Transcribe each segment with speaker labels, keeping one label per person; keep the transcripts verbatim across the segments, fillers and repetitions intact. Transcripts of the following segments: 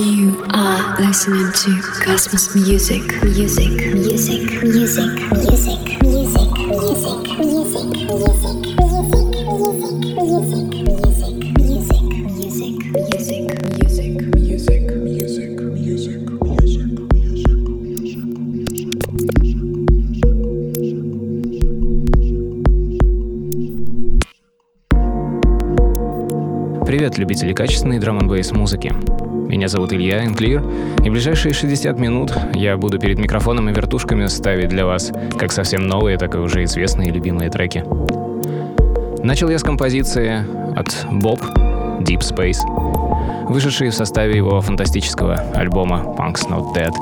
Speaker 1: You are listening to Cosmos Music, music, music, music, music, music, music, music, music, music, music,
Speaker 2: Привет, любители качественной драм-н-бейс музыки. Меня зовут Илья Энклир, и в ближайшие шестьдесят минут я буду перед микрофоном и вертушками ставить для вас как совсем новые, так и уже известные и любимые треки. Начал я с композиции от Bob Deep Space, вышедшей в составе его фантастического альбома Punk's Not Dead.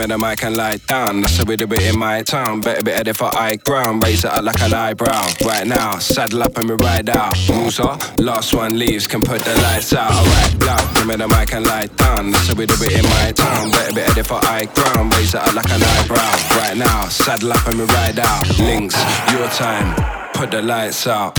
Speaker 3: me the mic and lie down. That's how we do it in my town. Better be headed for high ground. Raise it up like an eyebrow. Right now, saddle up and we ride out. Rules are, last one leaves can put the lights out. Alright, loud, give me the mic and lie down. That's how we do it in my town. Better be headed for high ground. Raise it up like an eyebrow. Right now, saddle up and we ride out. Links, your time, put the lights out.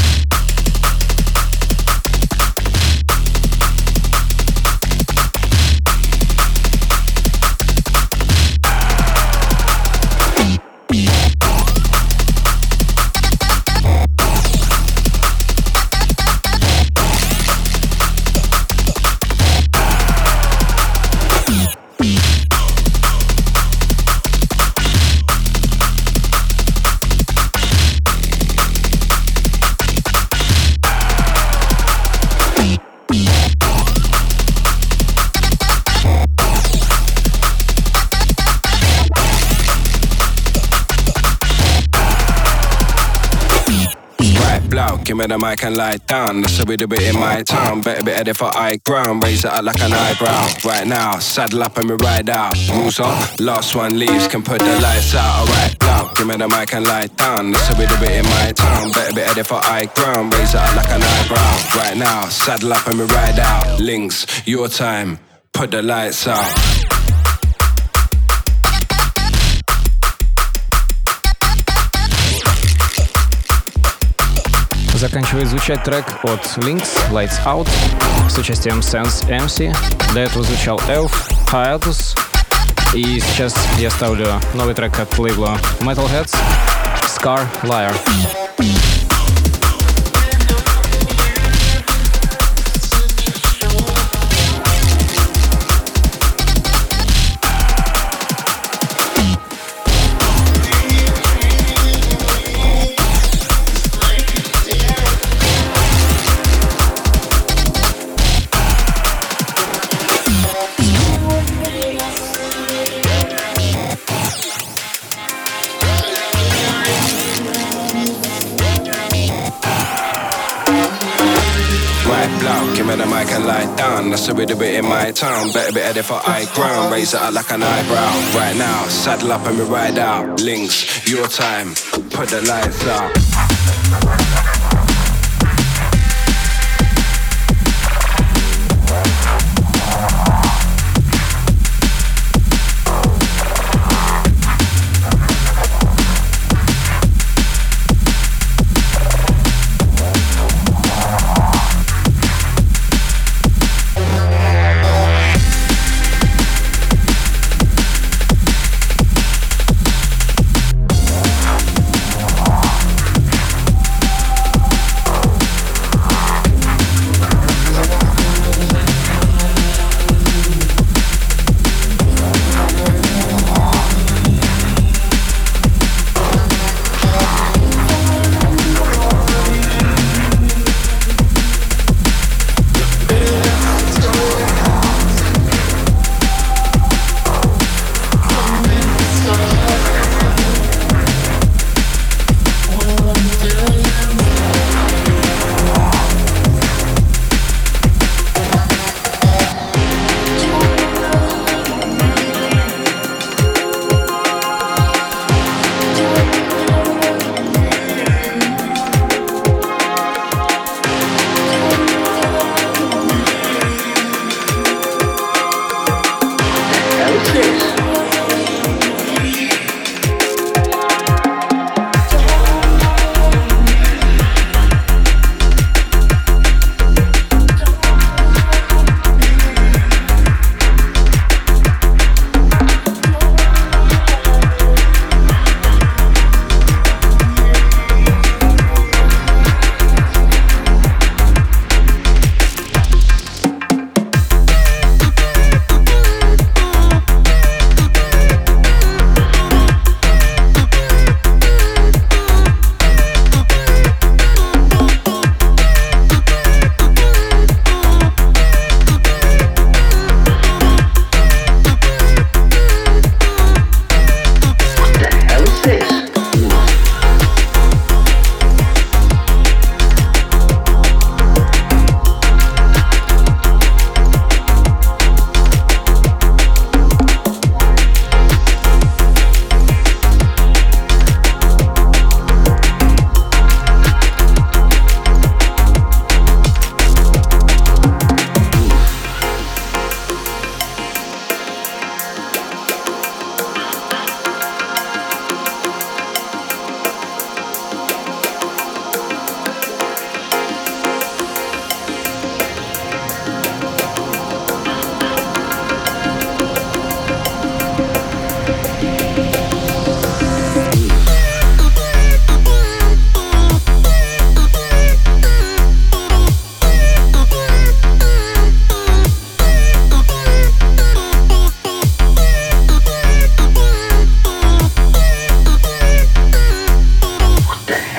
Speaker 3: Give me the mic and lie down. That's how we do it in my town. Better be headed for high ground. Raise it up like an eyebrow. Right now, saddle up and we ride out. Rules are, last one leaves can put the lights out. Alright, now, give me the mic and lie down. That's how we do it in my town. Better be headed for high ground. Raise it up like an eyebrow. Right now, saddle up and we ride out. Links, your time, put the lights out.
Speaker 2: Заканчивает звучать трек от Lynx, Lights Out, с участием Sense эм си. До этого звучал Elf, Hiatus. И сейчас я ставлю новый трек от лейбла Metalheads, Scar Liar.
Speaker 3: That's how we do it in my town. Better be headed for high ground. Raise it up like an eyebrow. Right now, saddle up and we ride out. Links, your time, put the lights out.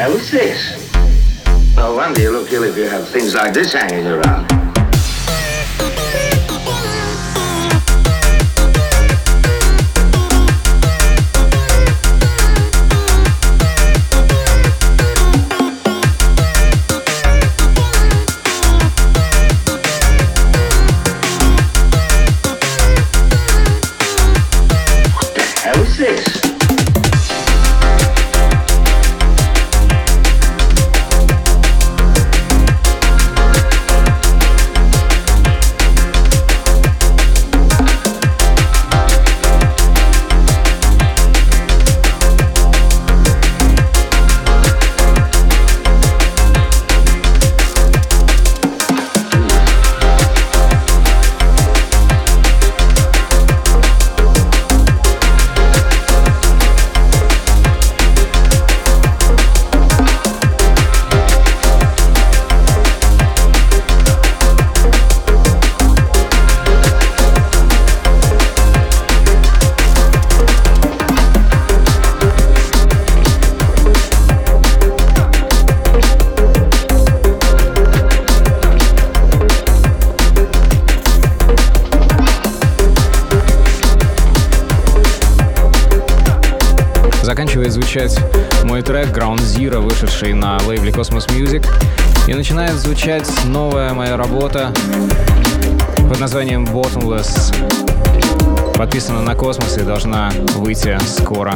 Speaker 4: hell is this? No wonder you look ill if you have things like this hanging around. What the hell is this?
Speaker 2: Заканчивает звучать мой трек Ground Zero, вышедший на лейбле Cosmos Music. И начинает звучать новая моя работа под названием Bottomless. Подписана на Cosmos и должна выйти скоро.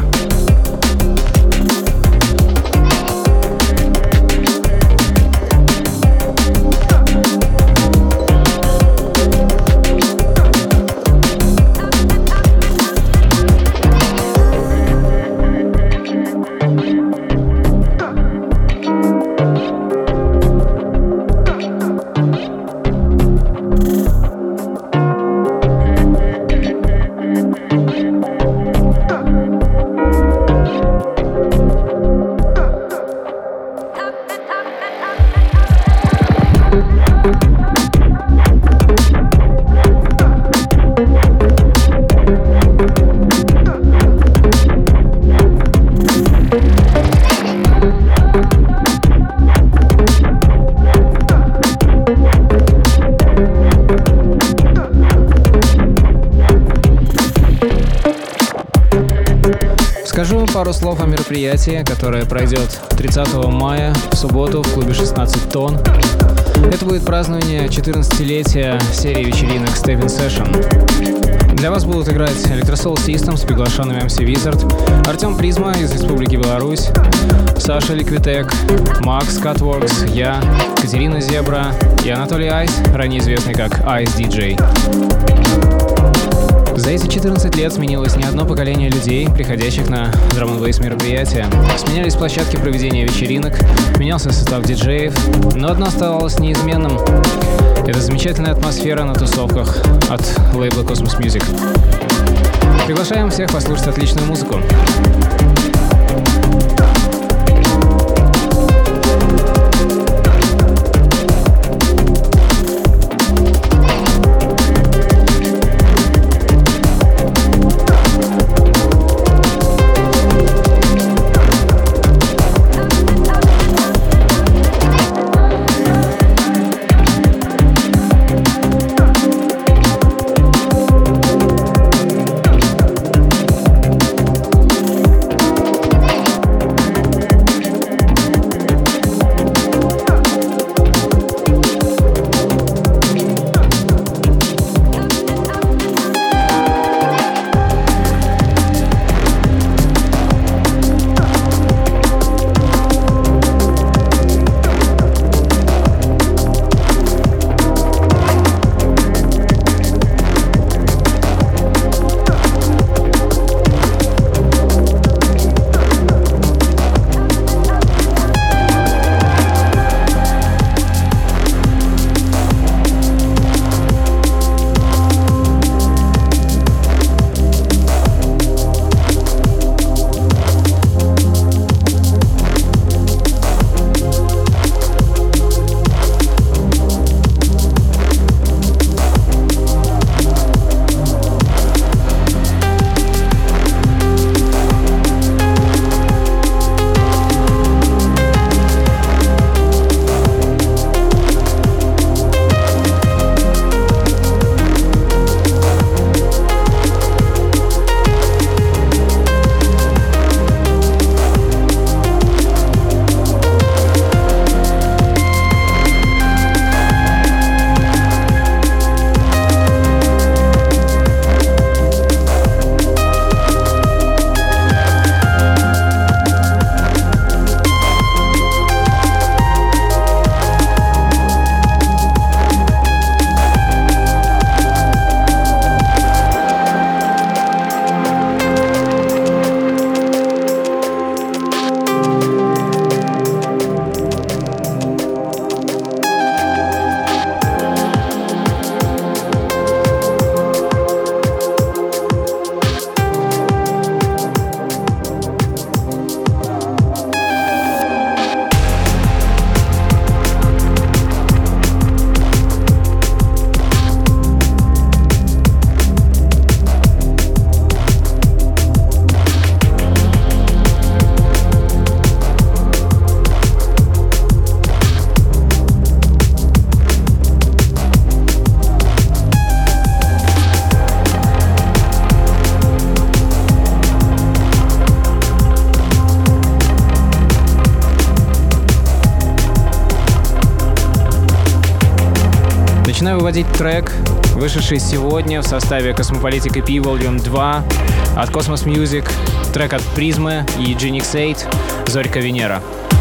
Speaker 2: Скажу пару слов о мероприятии, которое пройдет тридцатого мая в субботу в клубе шестнадцать тонн. Это будет празднование четырнадцатилетия серии вечеринок Stepping Session. Для вас будут играть Electrosol Systems с приглашенными эм си Wizard, Артем Призма из Республики Беларусь, Саша Ликвитек, Макс Cutworks, я, Катерина Зебра и Анатолий Айс, ранее известный как Ice ди джей. За эти четырнадцать лет сменилось не одно поколение людей, приходящих на драм н бейс мероприятия. Сменялись площадки проведения вечеринок, менялся состав диджеев, но одно оставалось неизменным. Это замечательная атмосфера на тусовках от лейбла Cosmos Music. Приглашаем всех послушать отличную музыку. Начинаю выводить трек, вышедший сегодня в составе Cosmopolitic и пи Volume два от Cosmos Music, трек от Призмы и Genix восемь «Зорька Венера».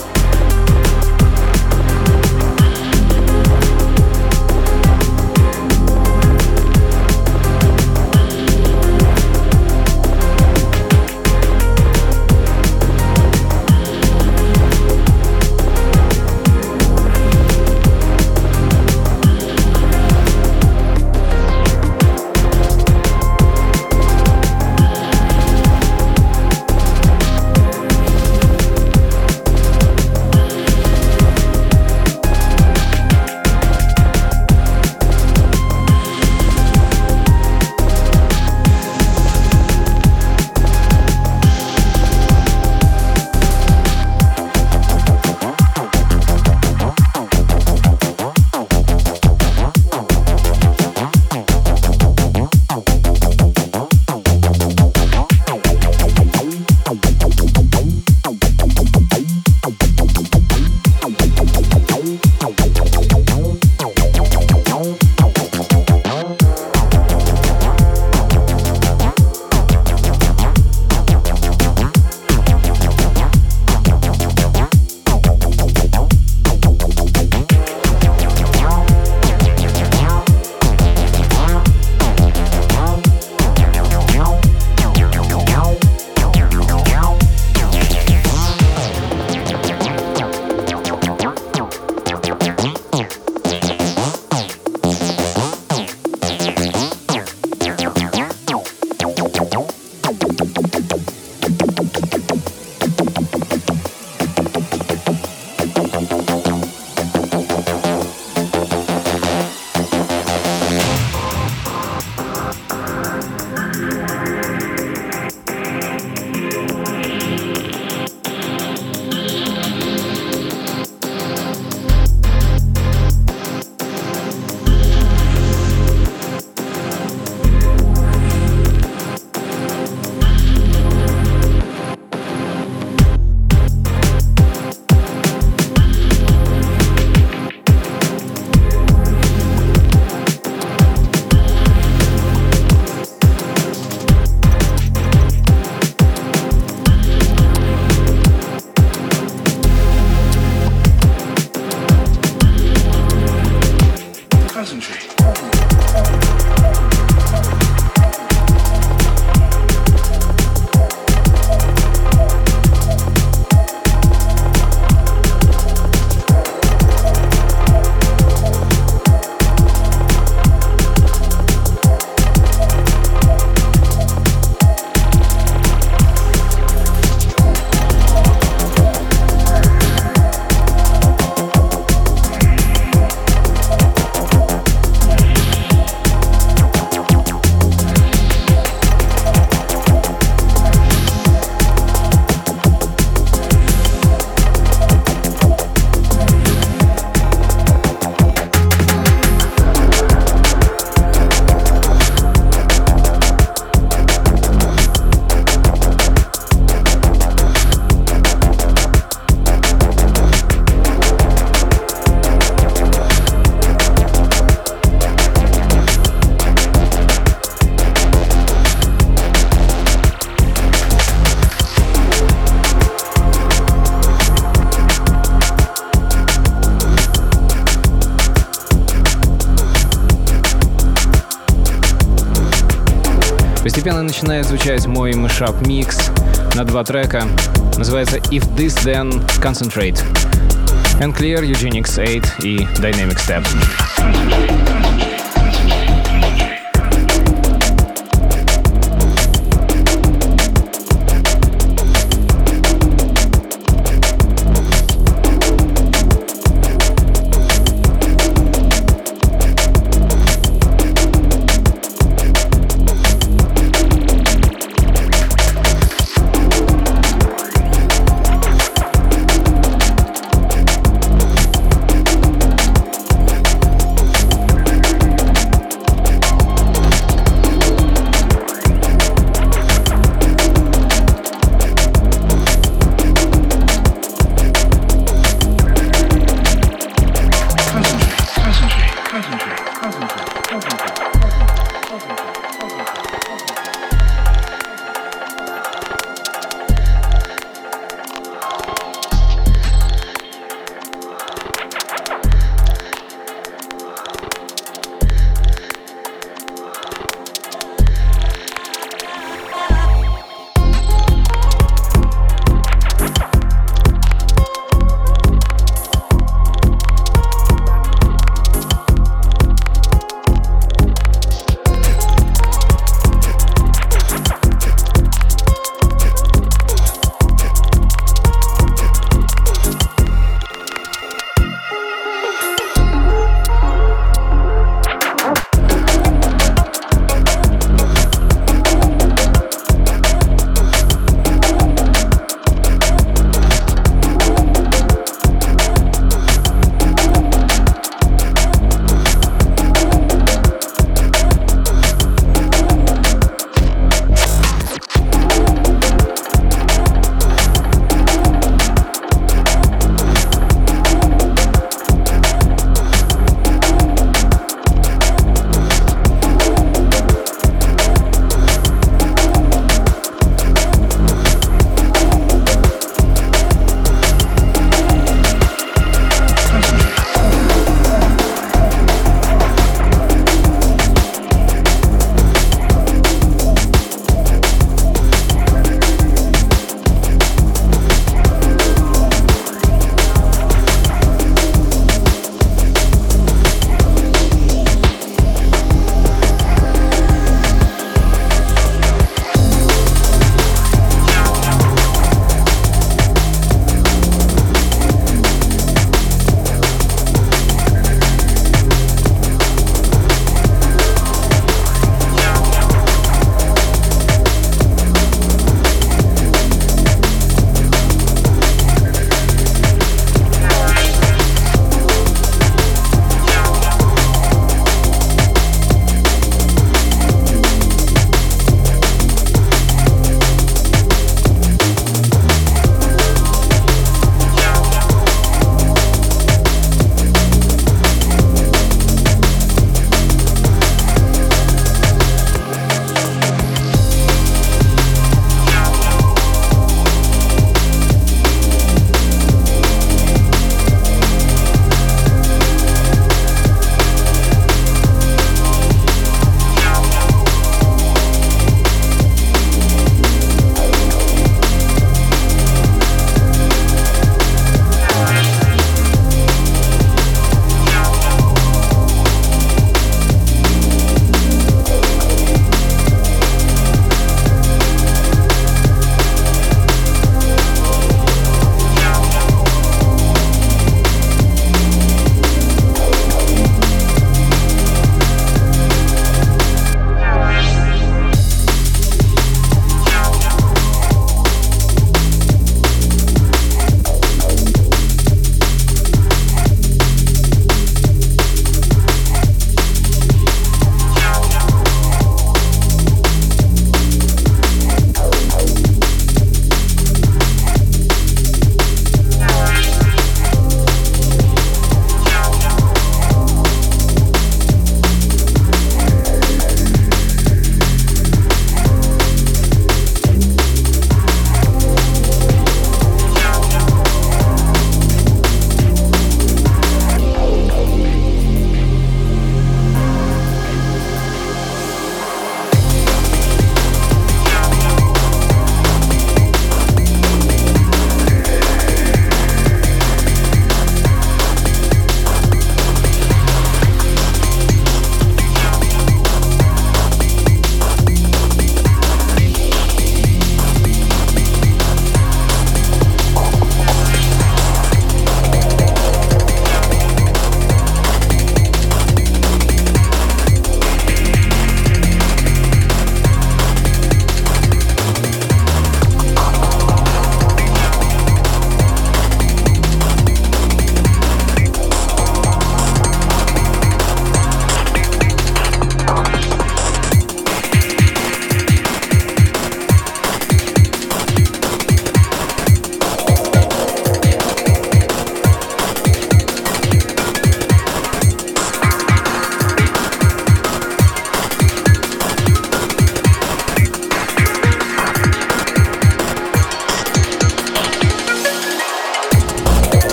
Speaker 2: Постепенно начинает звучать мой мешап-микс на два трека. Называется If This Then Concentrate. Unclear, Genix восемь и Dynamic Step.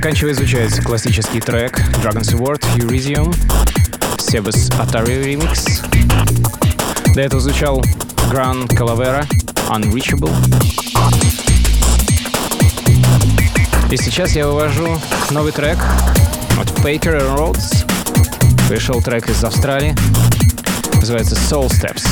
Speaker 2: Заканчивая изучать классический трек Dragon's Award Elysium, Sebas Atari Remix. До этого звучал Gran Calavera Unreachable. И сейчас я вывожу новый трек от Baker and Rhodes. Пришел трек из Австралии. Называется Soul Steps.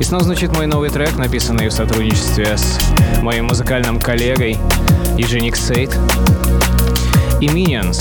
Speaker 2: снова звучит мой новый трек, написанный в сотрудничестве с моим музыкальным коллегой Евгеник Сейд и Minions.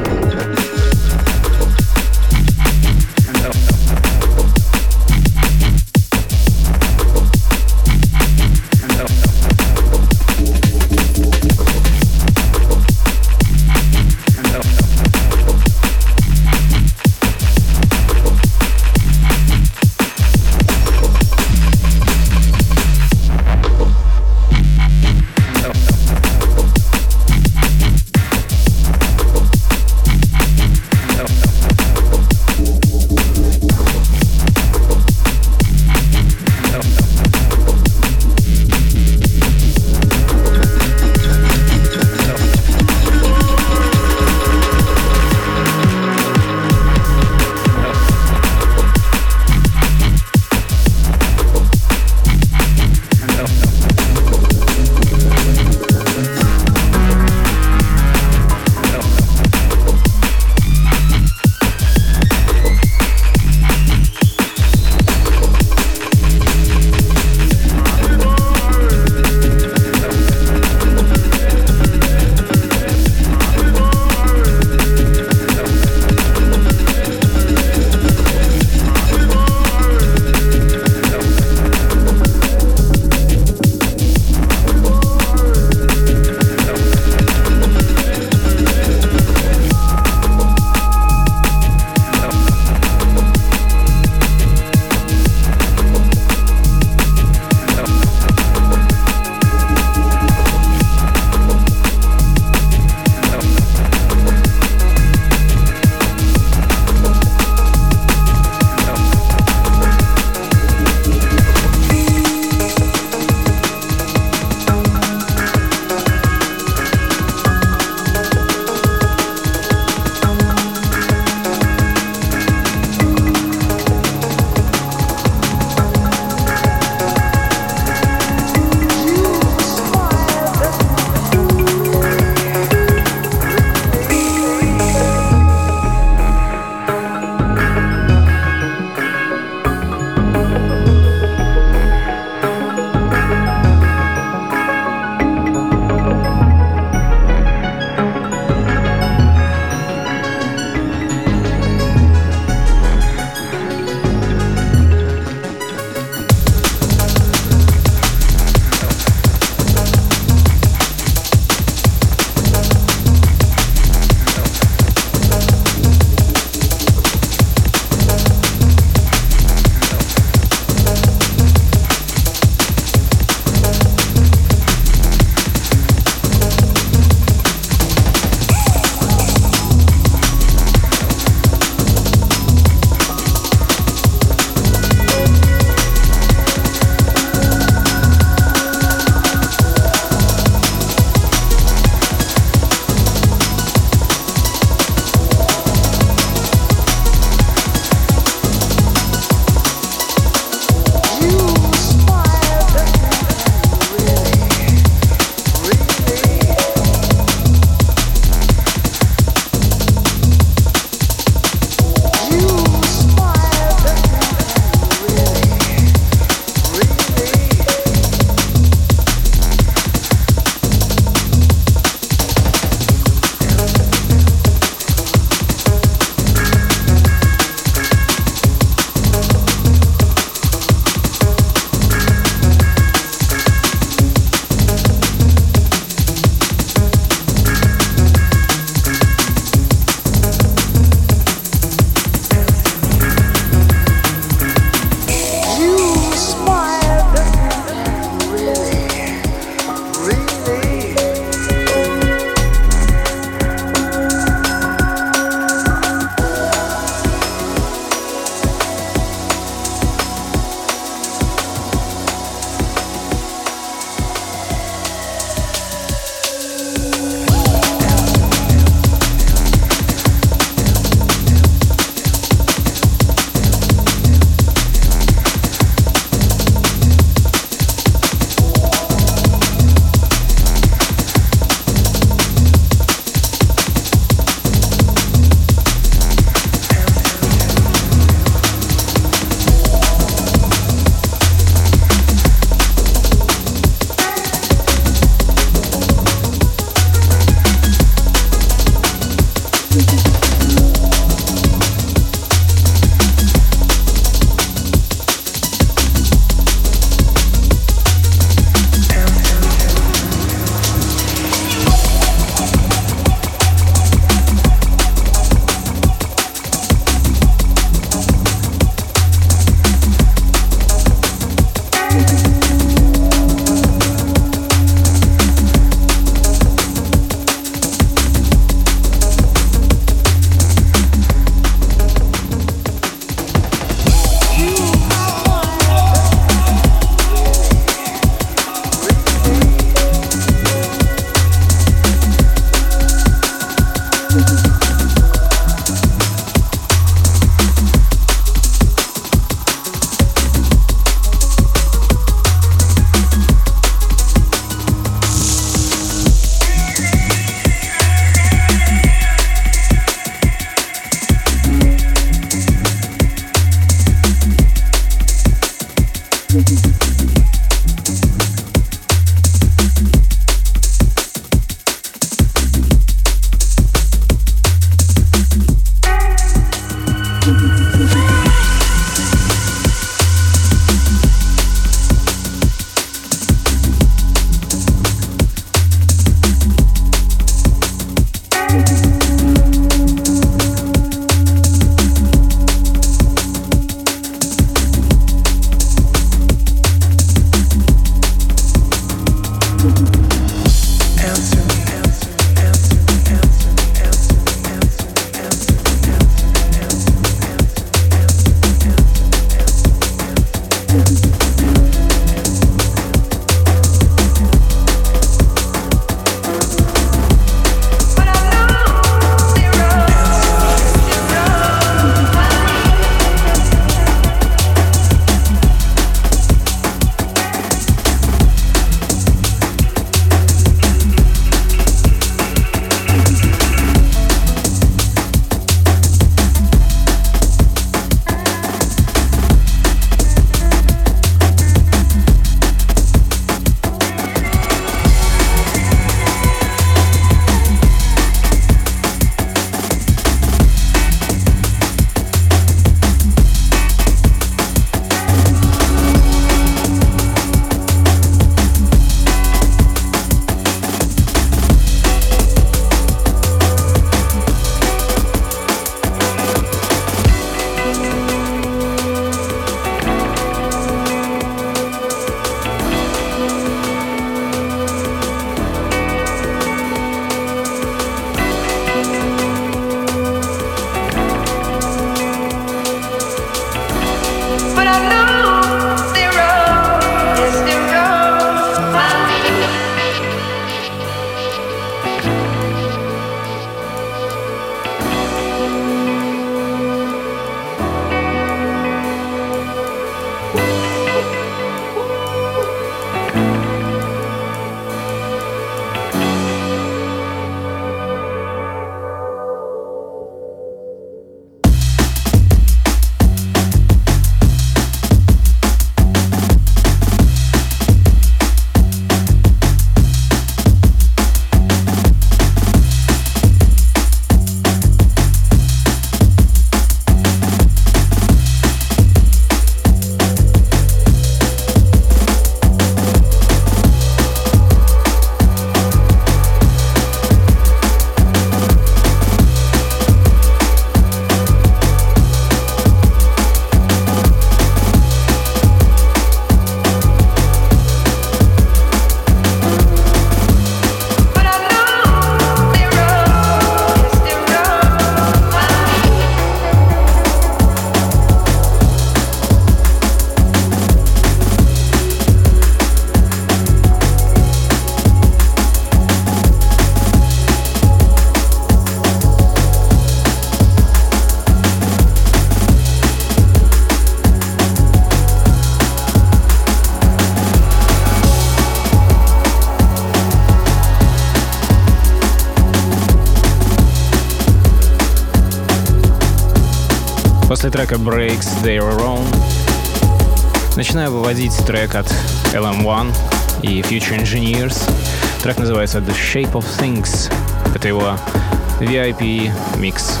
Speaker 2: После трека Breaks Their Own начинаю выводить трек от эл эм один и Future Engineers. Трек называется The Shape of Things. Это его ви ай пи микс.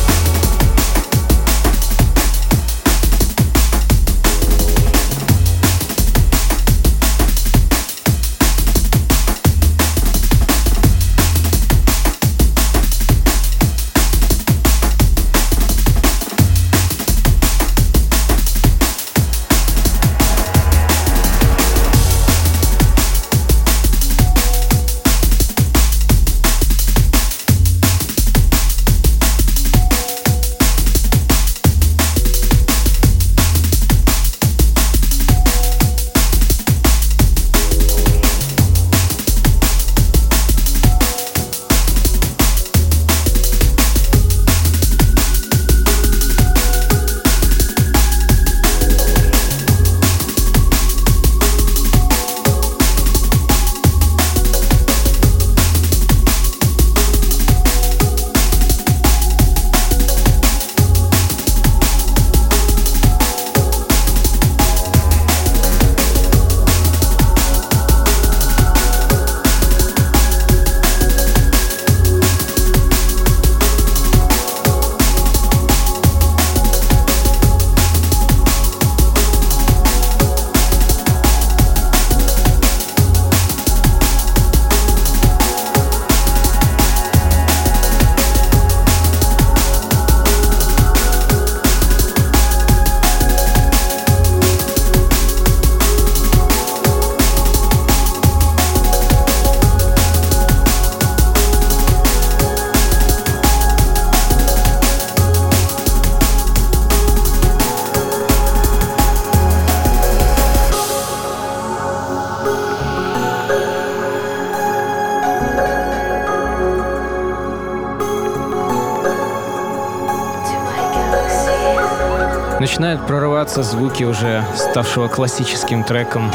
Speaker 2: Начинают прорываться звуки уже ставшего классическим треком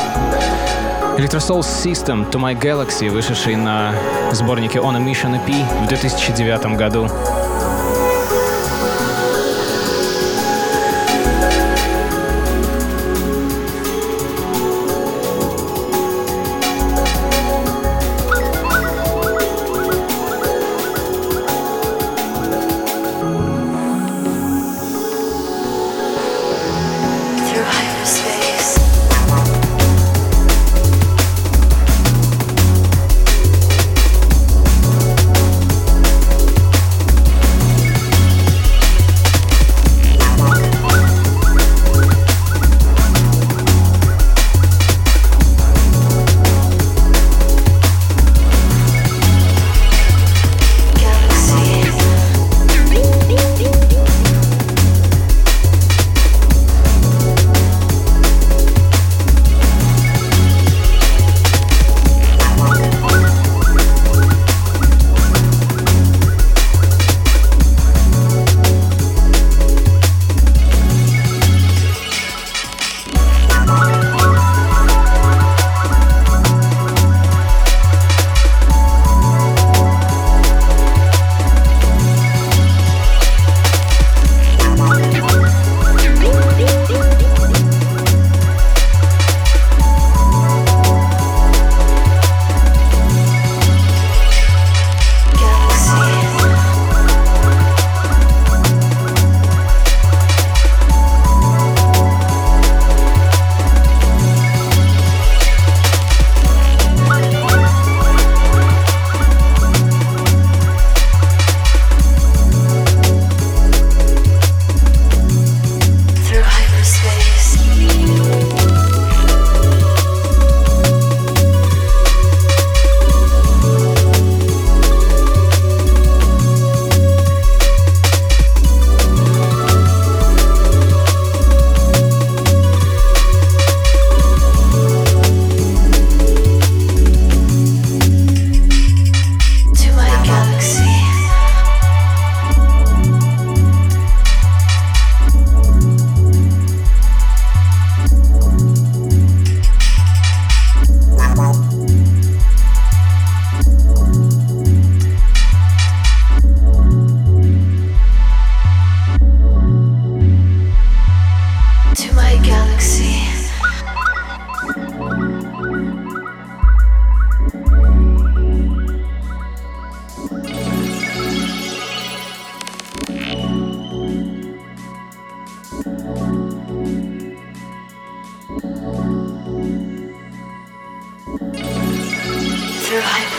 Speaker 2: Electro Soul System To My Galaxy, вышедший на сборнике On a Mission и пи в две тысячи девятом году.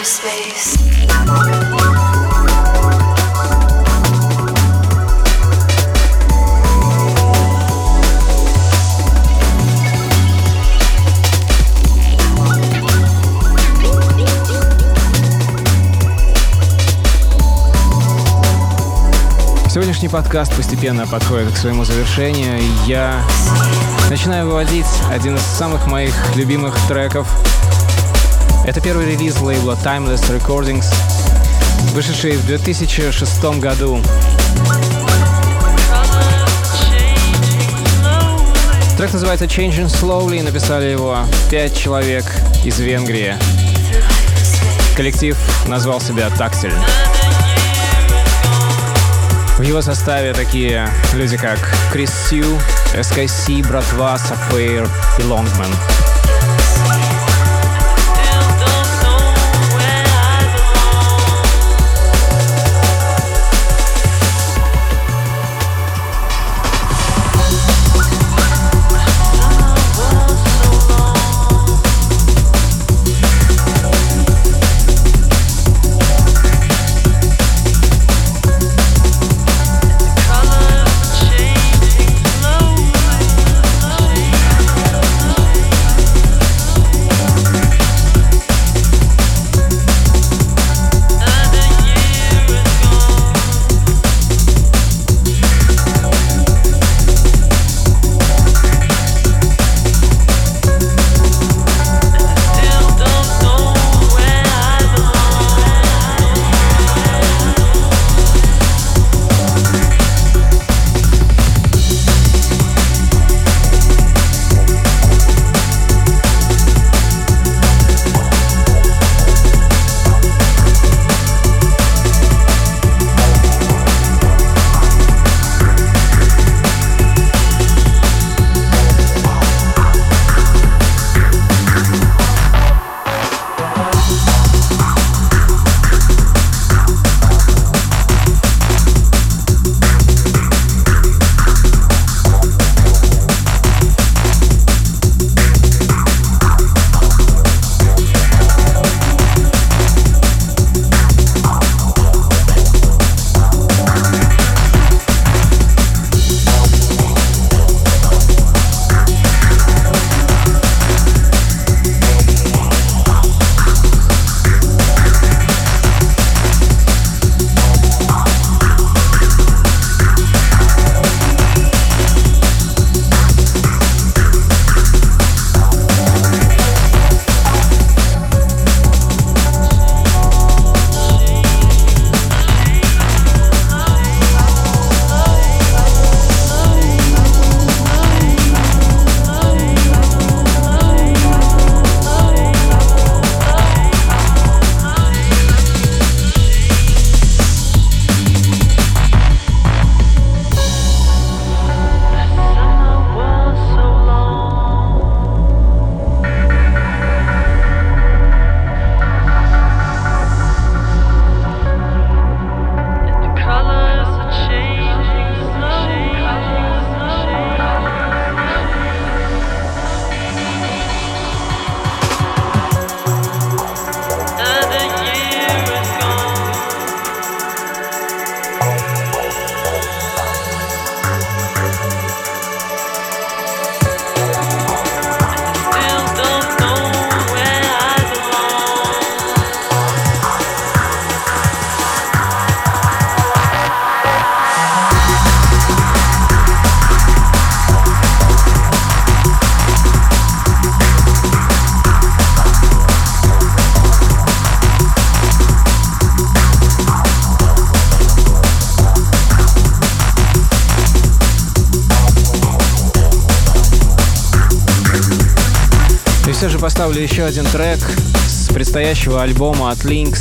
Speaker 1: space.
Speaker 2: Сегодняшний подкаст постепенно подходит к своему завершению, и я начинаю выводить один из самых моих любимых треков. Это первый релиз лейбла Timeless Recordings, вышедший в две тысячи шестом году. Трек называется Changing Slowly, написали его пять человек из Венгрии. Коллектив назвал себя Tactile. В его составе такие люди, как Крис Сью, эс кей си, Братва, Sapphire и Longman. Все же поставлю еще один трек с предстоящего альбома от Lynx.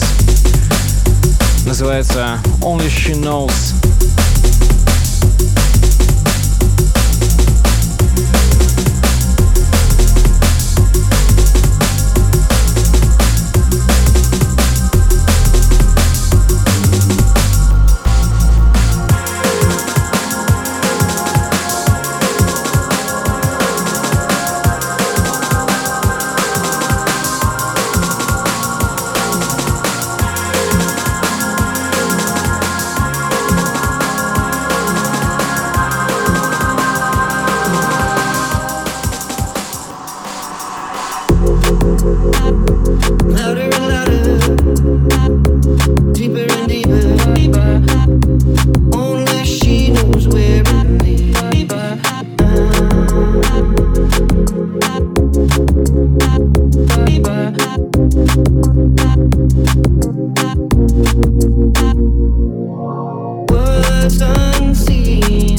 Speaker 2: Называется Only She Knows.
Speaker 5: louder and louder, deeper and deeper. Only she knows where it leads. Words unseen,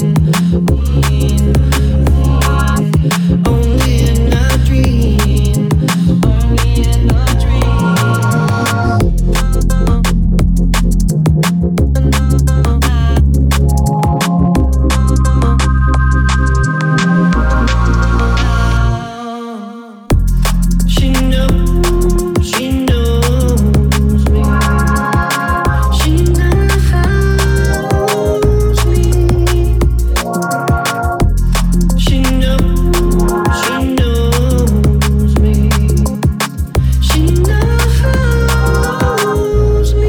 Speaker 5: only in a dream, only in a She knows, she knows me. She knows me. She knows, she knows me. She knows me.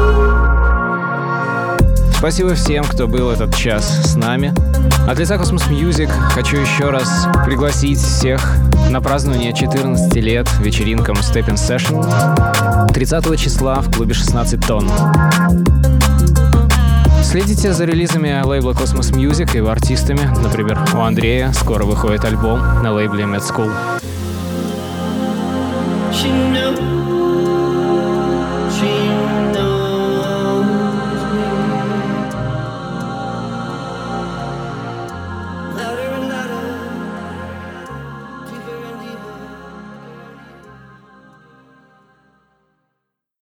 Speaker 2: Спасибо всем, кто был этот час с нами. От лица Cosmos Music хочу еще раз пригласить всех на празднование четырнадцати лет вечеринкам Stepping Session тридцатого числа в клубе шестнадцать тонн. Следите за релизами лейбла Cosmos Music и его артистами. Например, у Андрея скоро выходит альбом на лейбле Mad School.